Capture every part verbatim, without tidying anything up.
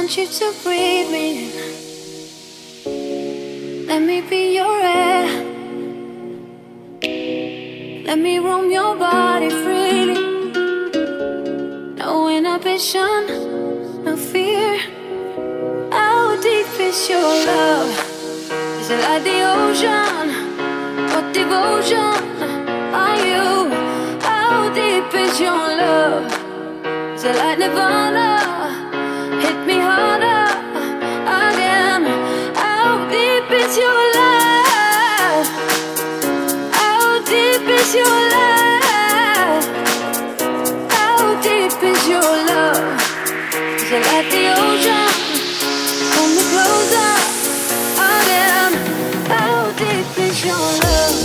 want you to breathe me in. Let me be your air. Let me roam your body freely. No inhibition, no fear. How deep is your love? Is it like the ocean? What devotion are you? How deep is your love? Is it like Nirvana? Hit me harder again. How deep is your love? How deep is your love? How deep is your love? Is it like the ocean? Pull me closer again. How deep is your love?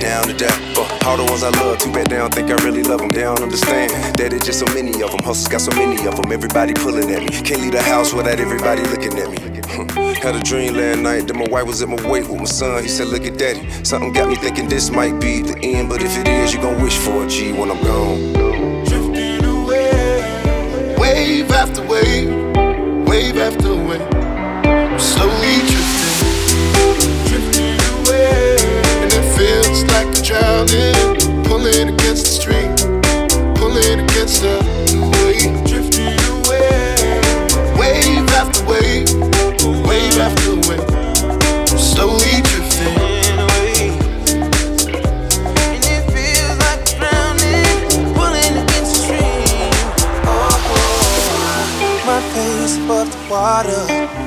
down to die. For all the ones I love, too bad they don't think I really love them. They don't understand that it's just so many of them. Hustles got so many of them, everybody pulling at me. Can't leave the house without everybody looking at me. Had a dream last night that my wife was at my wake with my son. He said, look at daddy. Something got me thinking this might be the end, but if it is, you gon' wish for a G when I'm gone. Drifting away, wave after wave, wave after wave, I'm slowly drifting, drifting away, and it feels like I'm drowning, pulling against the stream, pulling against the wave, drifting away, wave after wave, wave after wave, I'm slowly drifting away, and it feels like I'm drowning, pulling against the stream. Oh, my face above the water,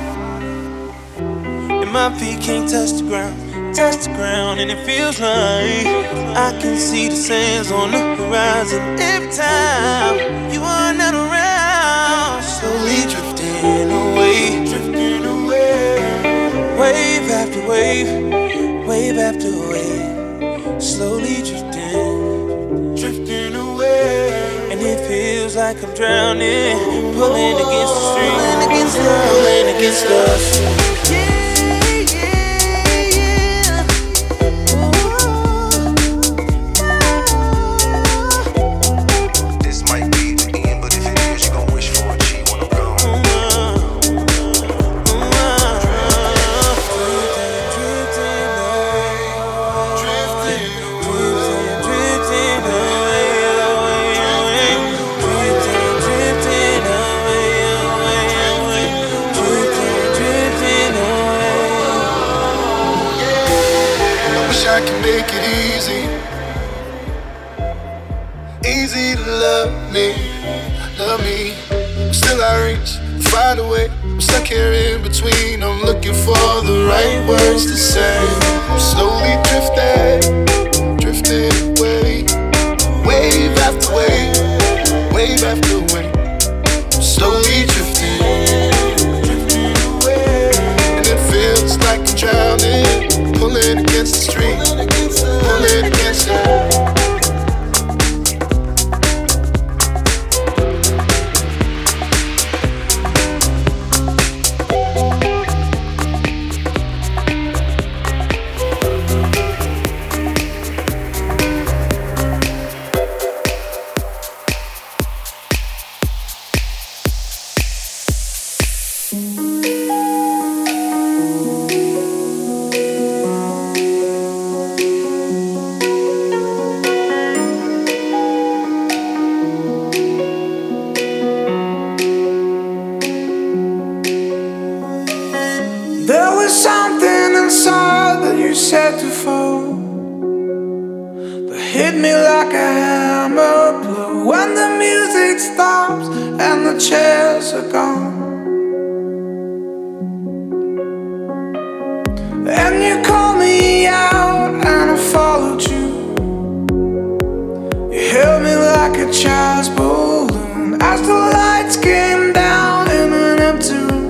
and my feet can't touch the ground, touch the ground, and it feels like I can see the sands on the horizon. Every time you are not around, slowly drifting away, drifting away, wave after wave, wave after wave, slowly drifting, drifting away, and it feels like I'm drowning, pulling against the stream, pulling against the, pulling against the stream. I can make it easy, easy to love me, love me. Still I reach, find a way. I'm stuck here in between. I'm looking for the right words to say. I'm slowly drifting, drifting away, wave after wave, wave after wave. I'm slowly drifting, drifting away, and it feels like I'm drowning, pulling against the stream, pulling against the. There was something inside that you said to fall, that hit me like a hammer blow. When the music stops and the chairs are gone, and you called me out and I followed you. You held me like a child's balloon as the lights came down in an empty room.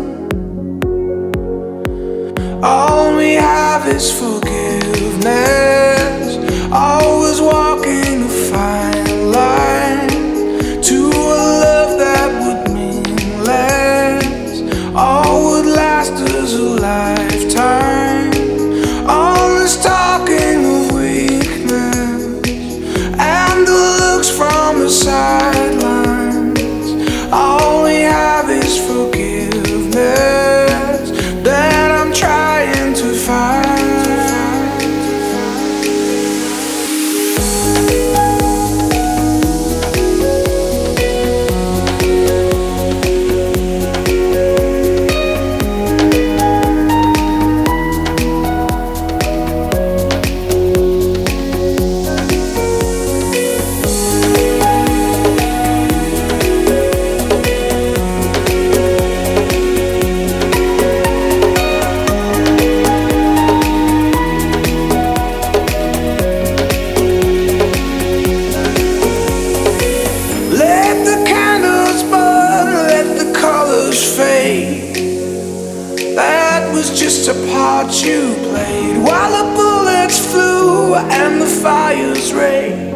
All we have is forgiveness. Always walking a fine line to a love that would mean less. All would last us a lifetime. All this talking of weakness and the looks from the sidelines. All we have is forgiveness that I'm trying to find. fire's rage.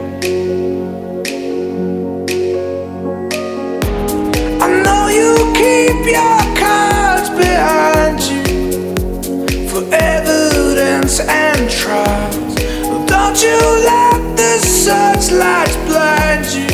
I know you keep your cards behind you for evidence and trials. Don't you let the searchlights blind you.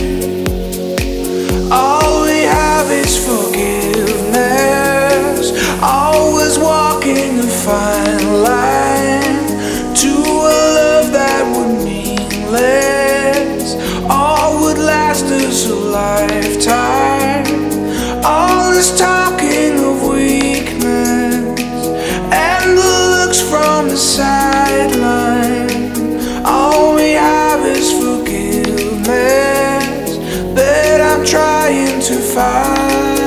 All we have is forgiveness, always walking a fine line to a love that would mean less, all would last us a lifetime. All this talking of weakness and the looks from the sideline, all we have is forgiveness that I'm trying to find.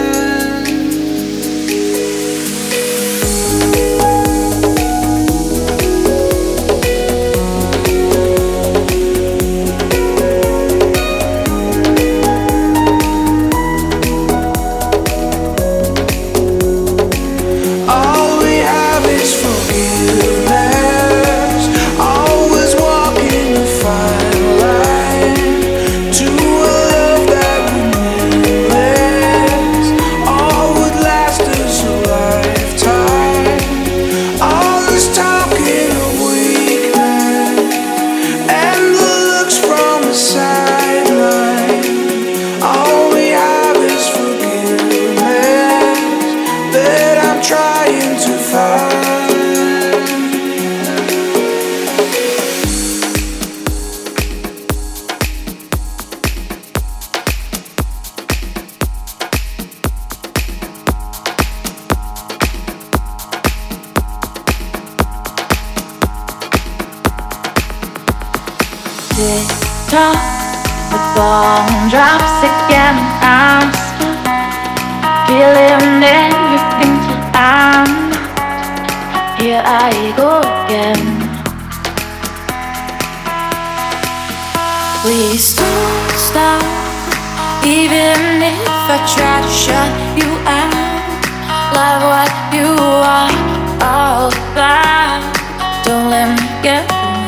Top with bone drops again. I'm stuck, feeling everything till I'm not. Here I go again. Please don't stop, even if I try to shut you out. Love what you are all about. Don't let me get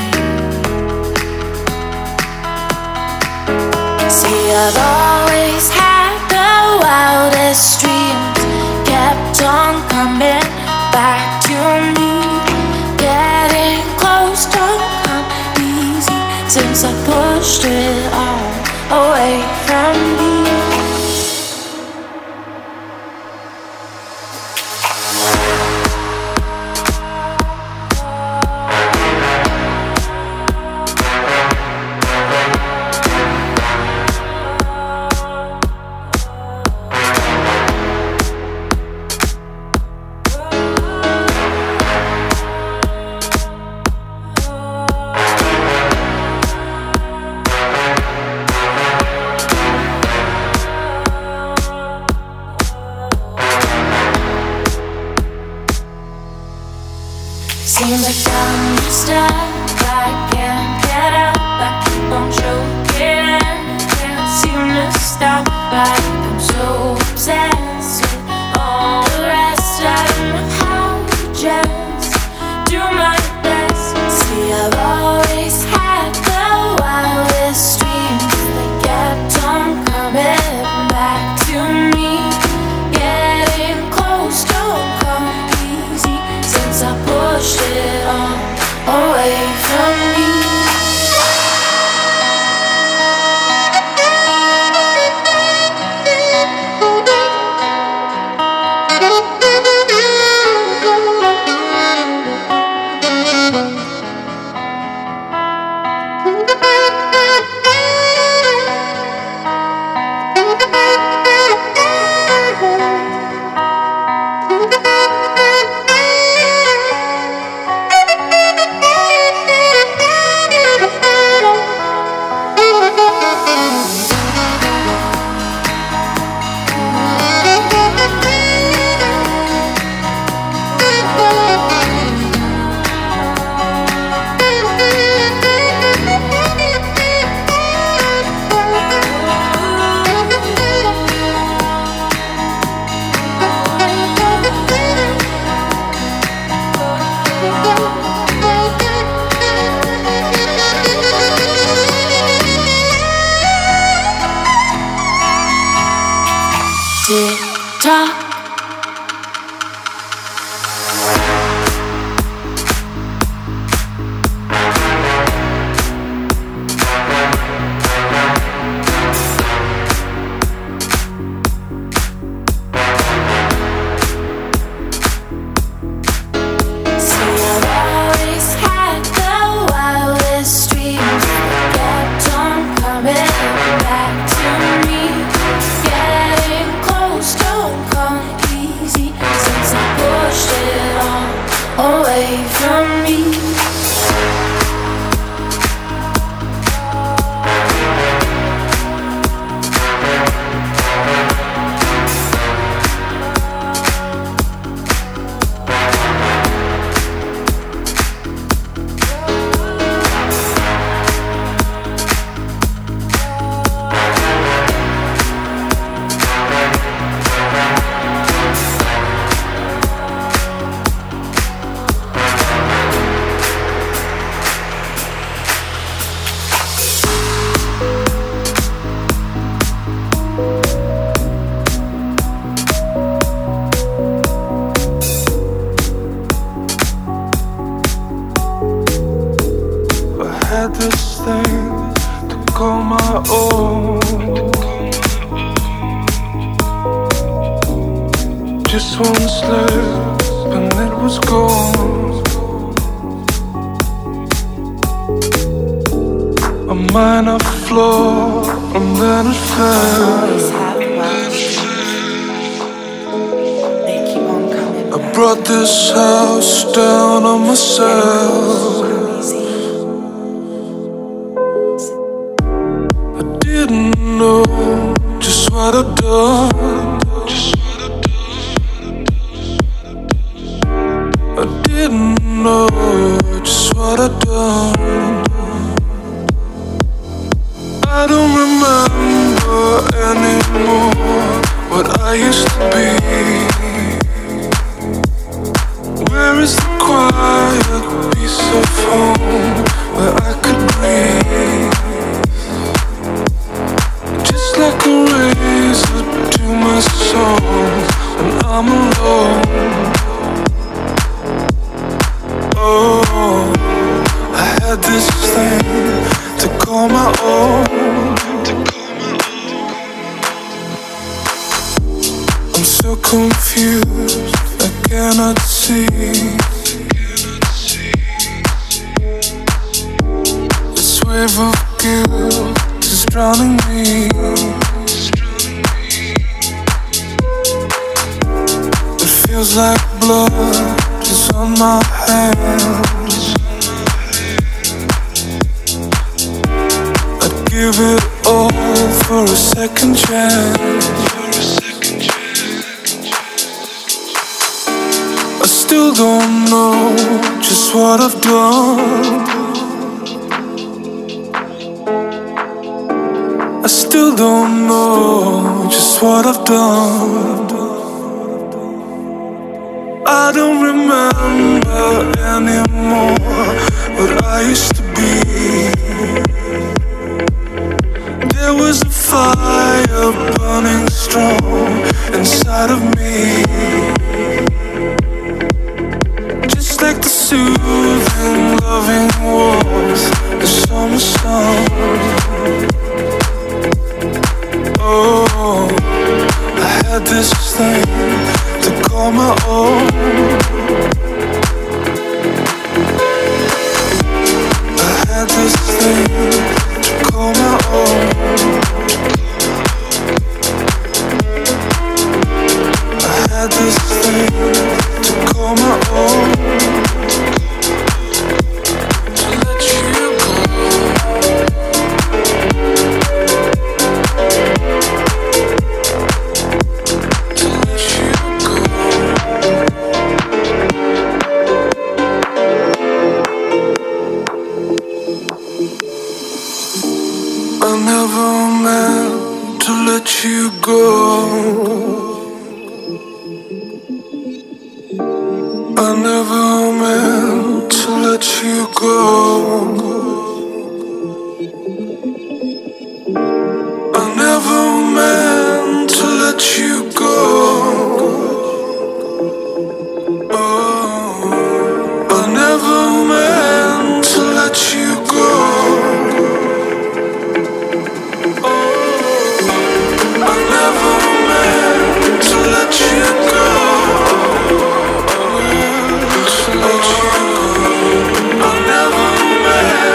I've always had the wildest dreams, kept on coming back to me. Getting close don't come easy since I pushed it all away from me. call my own. Just one slip and it was gone. A minor flaw and then it fell. I brought this house down on myself. I didn't know just what I'd done. I didn't know just what I'd done. I don't remember anymore what I used to be. Where is the quiet piece of home where I could breathe? Just like a razor to my soul when I'm alone. Oh, I had this thing to call my own. I'm so confused, I cannot see. This wave of guilt is drowning me. It feels like blood is on my hands. I'd give it all for a second chance. I still don't know just what I've done. I still don't know just what I've done. I don't remember anymore what I used to be. There was a fire burning strong inside of me. Just like the soothing, loving warmth of summer sun. Oh, I had this thing to call my own. I had this thing to call my own. I had this thing to call my own. To let you go. To let you go. I never meant to let you go. I never meant to let you go. I never meant to let you go. Oh, I never meant to let you go. Oh, I never meant to let you go. To let you go. I never meant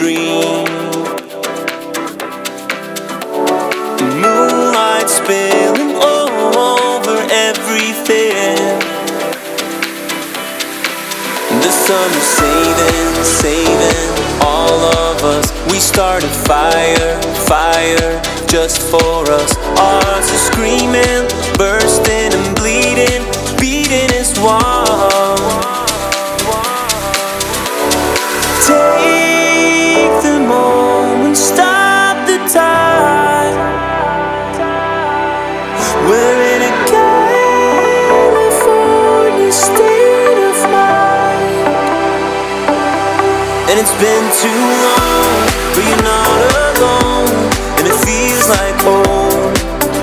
dream. The moonlight spilling over everything. The sun is saving, saving all of us. We started fire, fire just for us. Ours is screaming, bursting and bleeding, beating its wall. Take the moment, stop the time. We're in a California state of mind. And it's been too long, but you're not alone. And it feels like home.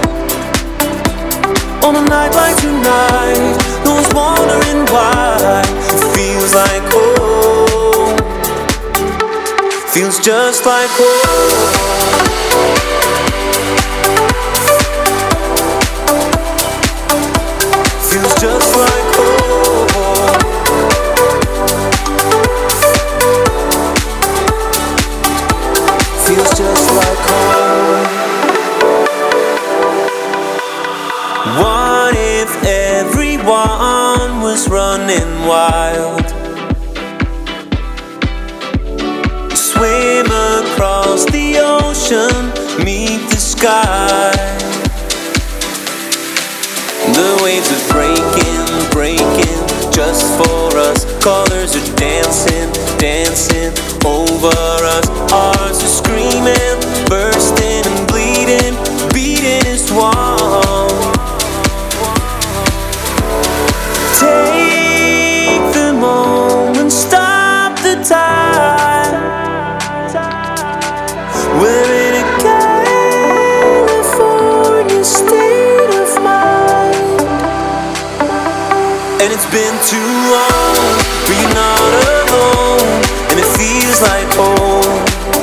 On a night like tonight, no one's wondering why. It feels like home. Feels just like home. Feels just like home. Feels just like home. What if everyone was running wild? Swim across the ocean, meet the sky. The waves are breaking, breaking just for us. Colors are dancing, dancing over us. Ours are screaming, bursting and bleeding, beating its wall. Take the moment, stop the time. We're in a California state of mind. And it's been too long, but you're not alone. And it feels like home.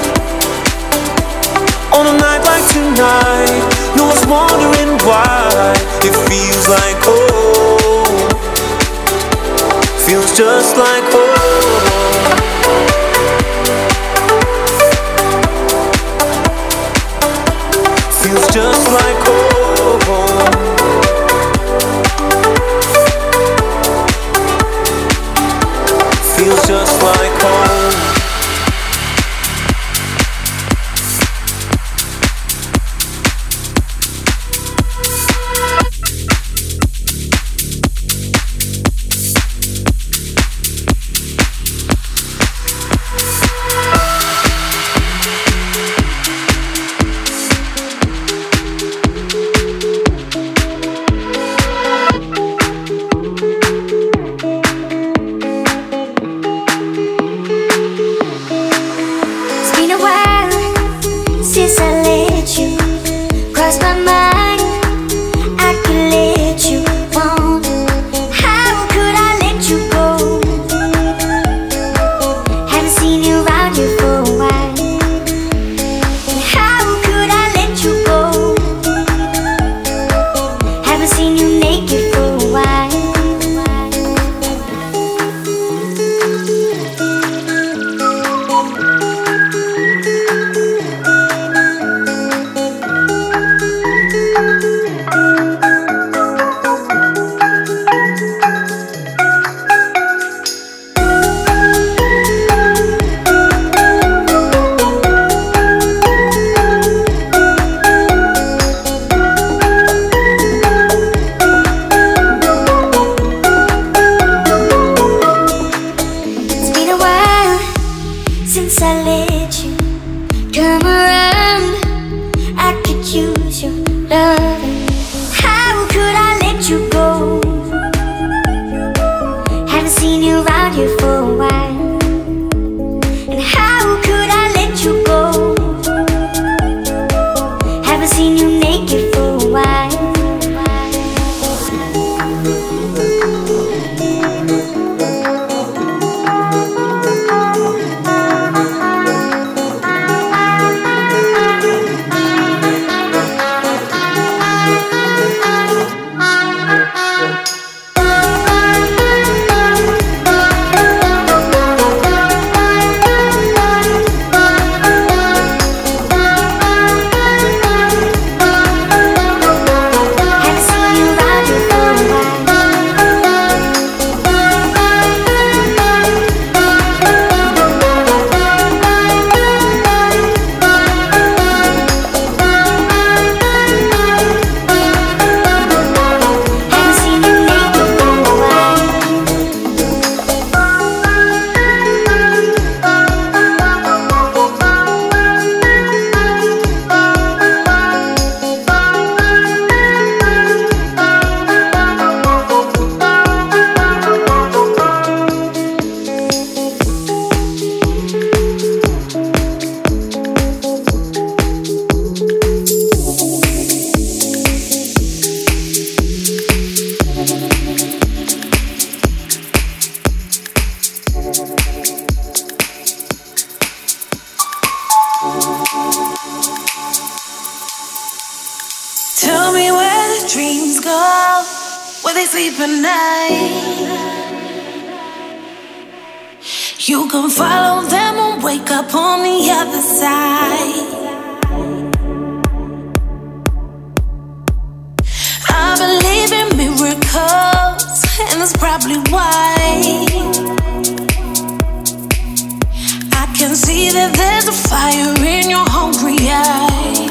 On a night like tonight, no one's wondering why. It feels like home. Feels just like home. Feels just like home. Feels just like home. Tell me where the dreams go, where they sleep at night. You can follow them and wake up on the other side. I believe in miracles, and that's probably why I can see that there's a fire in your hungry eyes.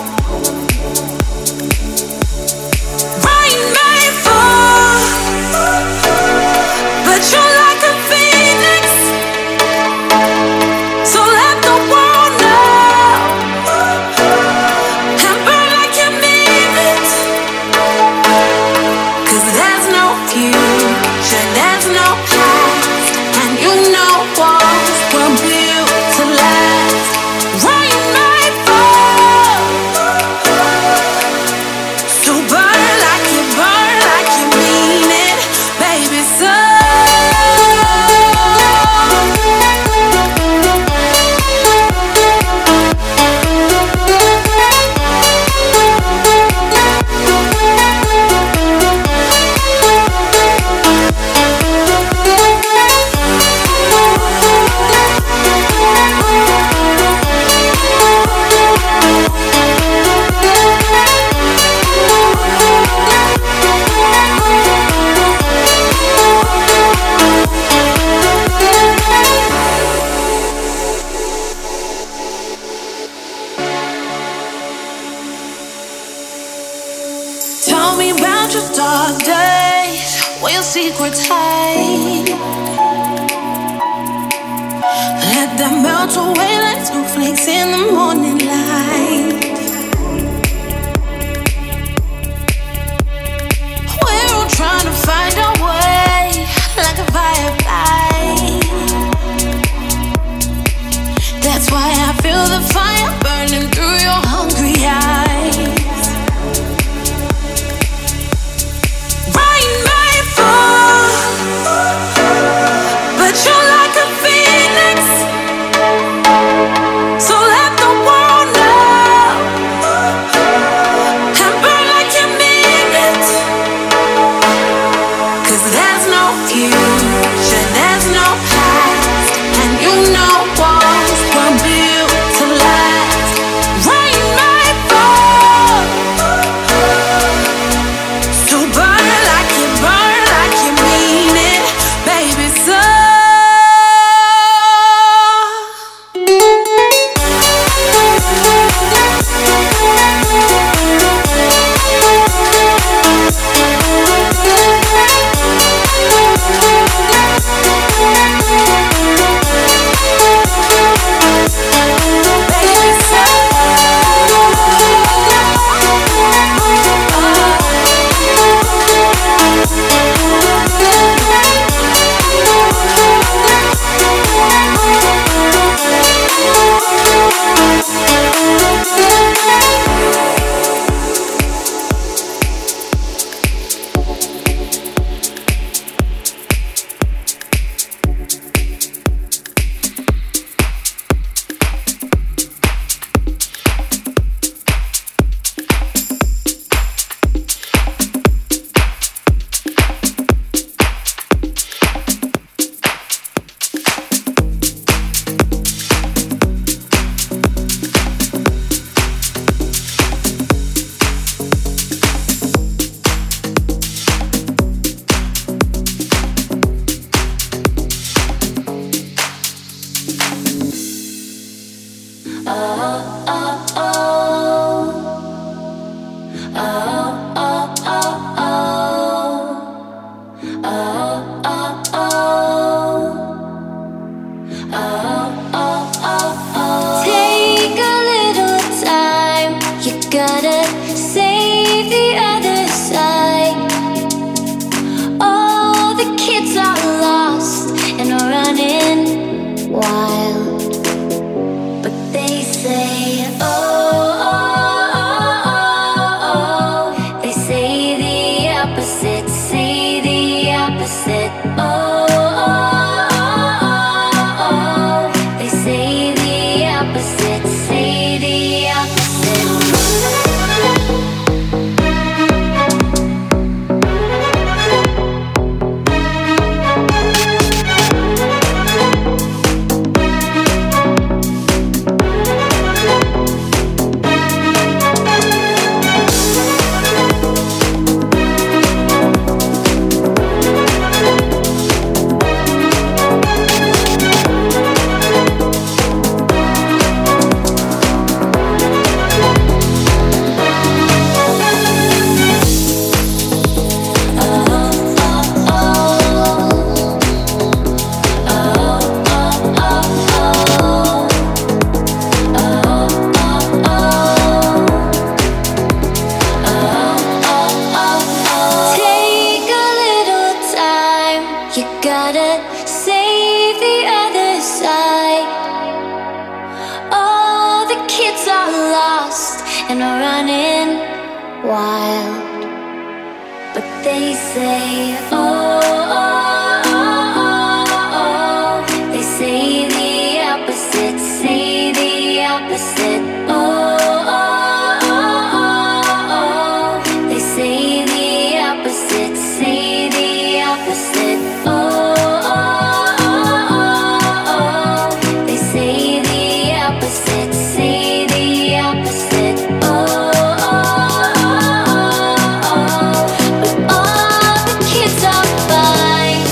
Rain may fall, but you're like a phoenix, so let the world know and burn like you mean it. 'Cause there's no future, there's no past, and you know walls were built to last. Rain may fall, so burn like you burn like you mean it, baby. So tell me about your dark days, where your secrets hide. Let them melt away like snowflakes in the morning light. We're all trying to find our way like a firefly. That's why I feel the fire burning through your hungry eyes. Rain may fall, but you're like a phoenix, so let the world know and burn like you mean it. 'Cause there's no future, there's no past, and you know walls were built to last. Rain may fall, so burn like you burn like you mean it, baby. So take a little time, you gotta save the other side. All the kids are lost and are running wild, but they say, oh, oh, oh, oh, oh. They say the opposite, say the opposite, oh, oh, oh, oh. They say the opposite, say kids are lost and are running wild. But they say, oh, oh, oh, oh, oh. They say the opposite, say the opposite. Oh, oh, oh, oh, oh. They say the opposite, say the opposite. Oh, oh, oh, oh, oh. They say the opposite, say the opposite. Oh, oh, oh, oh. But all the kids are fine.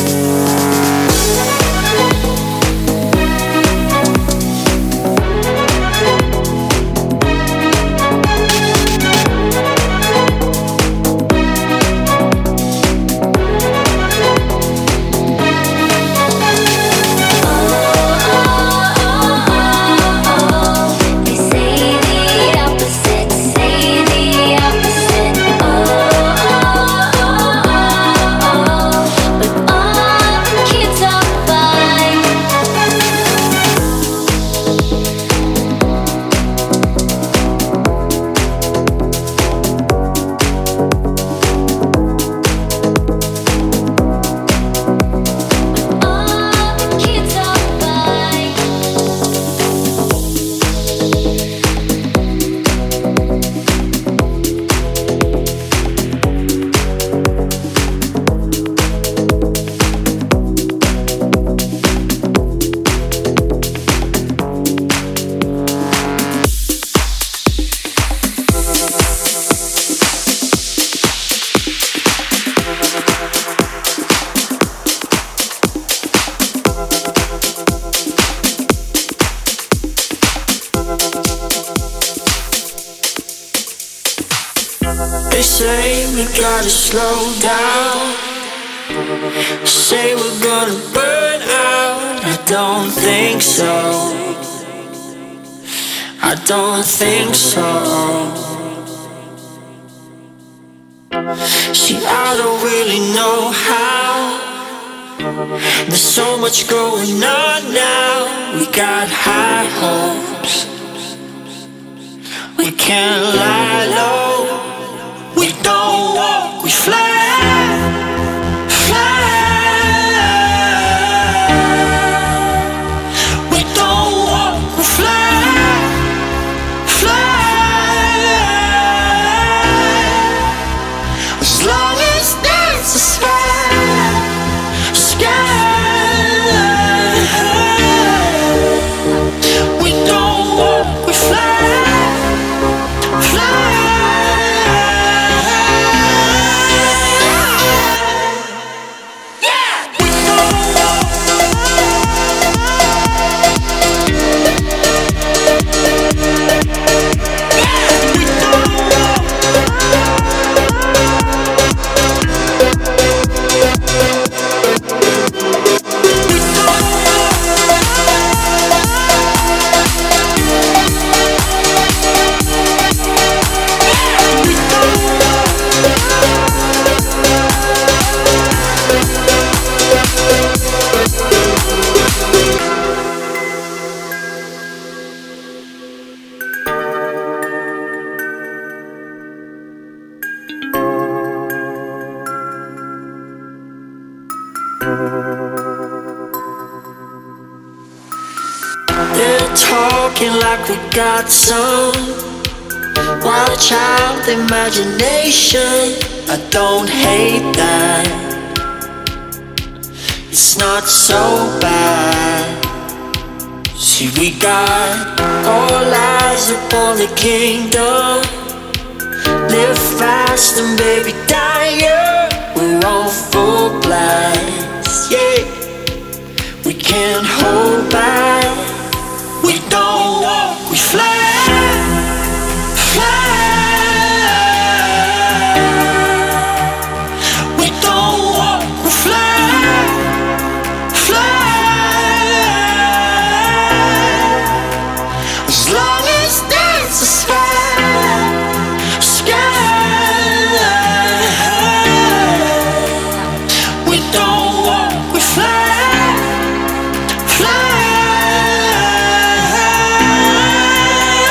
They say the opposite, say the opposite. Oh, oh, oh, oh. But all the kids are fine. All the kids are fine. They say we gotta slow down. Say we're gonna burn out. I don't think so. I don't think so. See, I don't really know how. There's so much going on now. We got high hopes. We can't lie low. We don't walk, we fly, fly. We don't walk, we fly, fly. As long as there's a sky, sky. We don't walk, we fly, fly. They're talking like we got some wild child imagination. I don't hate that. It's not so bad. See, we got all eyes upon the kingdom. Live fast and baby die young. We're on full blast, yeah. We can't hold back. We don't walk, we fly, fly. We don't walk, we fly, fly. As long as there's a sky, sky. We don't walk, we fly, fly.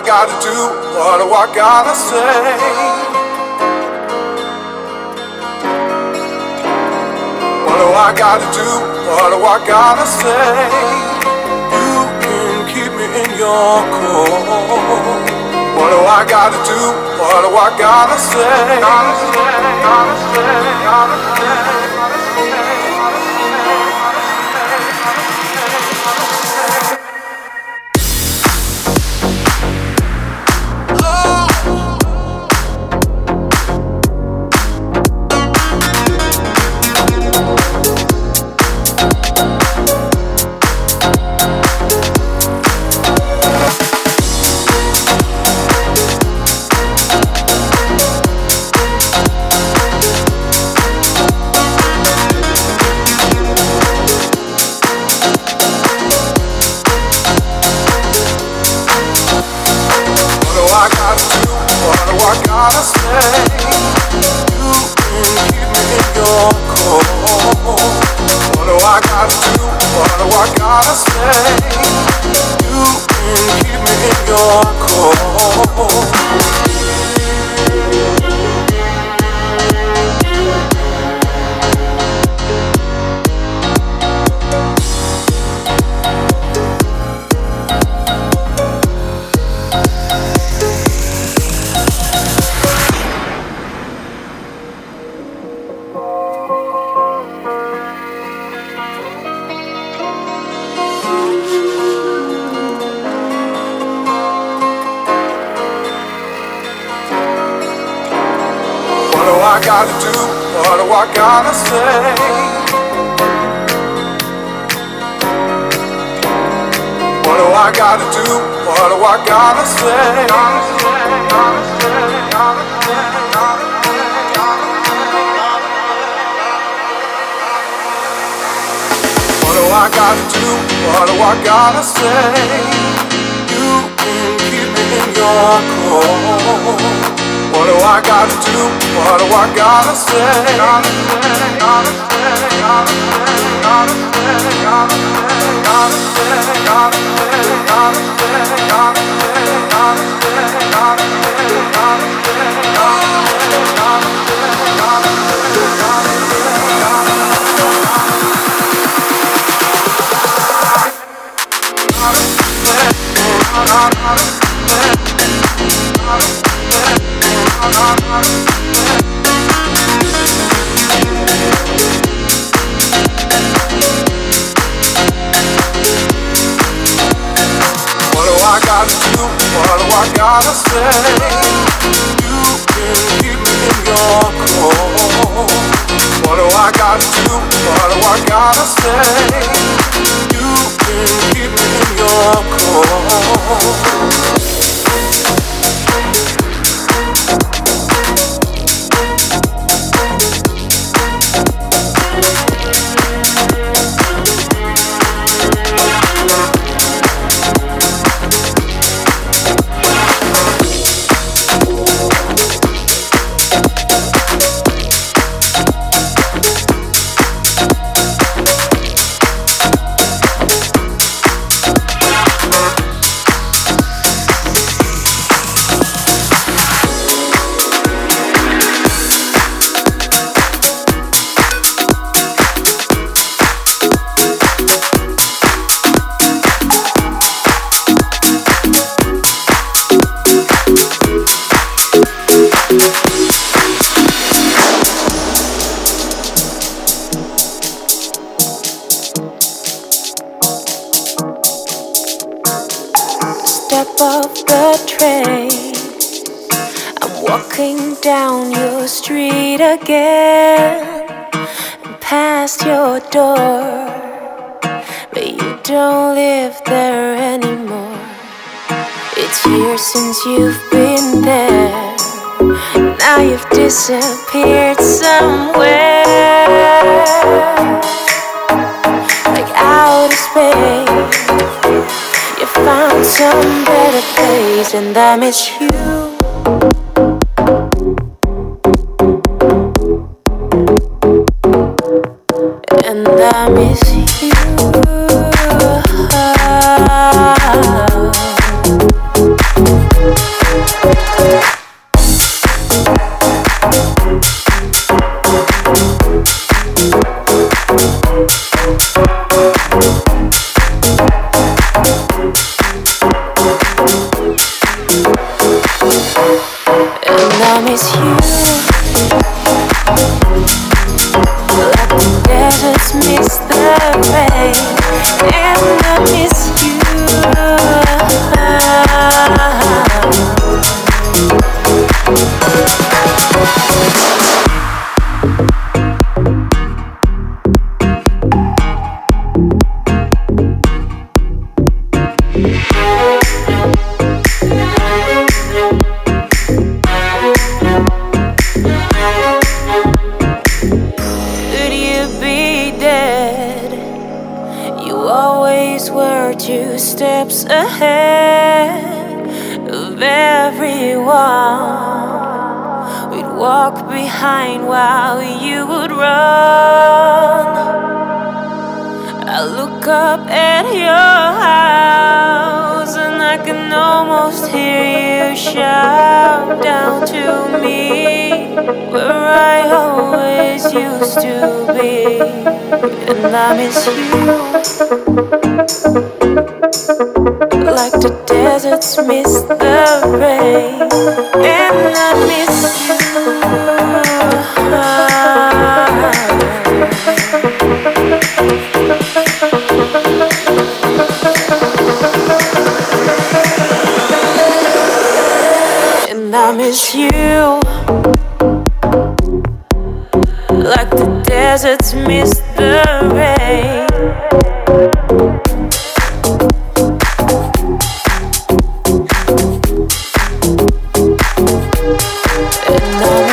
I gotta do? What do I gotta say? What do I gotta do? What do I gotta say? You can keep me in your core. What do I gotta do? What do I gotta say? Gotta say, gotta say, gotta say, gotta say, gotta gotta say, you can keep me in your core. What do I gotta do? What do I gotta say? You can keep me in your core. What do I gotta do? What do I gotta say? What do I gotta do? What do I gotta say? Gotta say, gotta say, gotta say, gotta say, gotta say. What do I gotta do? What do I gotta say? You can keep me in your core. What do I gotta do? What do I gotta say? Gotta say, gotta say, gotta say, gotta say, gotta say, gotta say, gotta say, gotta say, gotta say, gotta say, gotta say, gotta What do I gotta do? What do I gotta say? You can keep me in your core. What do I gotta do? What do I gotta say? You can keep me in your core. Step off the train, I'm walking down your street again, and past your door, but you don't live there anymore. It's years since you've been there, now you've disappeared somewhere, like outer space. You found some better place, and I miss you. And I miss you. Two steps ahead of everyone. We'd walk behind while you would run. I look up at your house and I can almost hear you shout down to me, where I always used to be. And I miss you like the deserts miss the rain, and I miss you. And I miss you like the deserts miss the rain. And I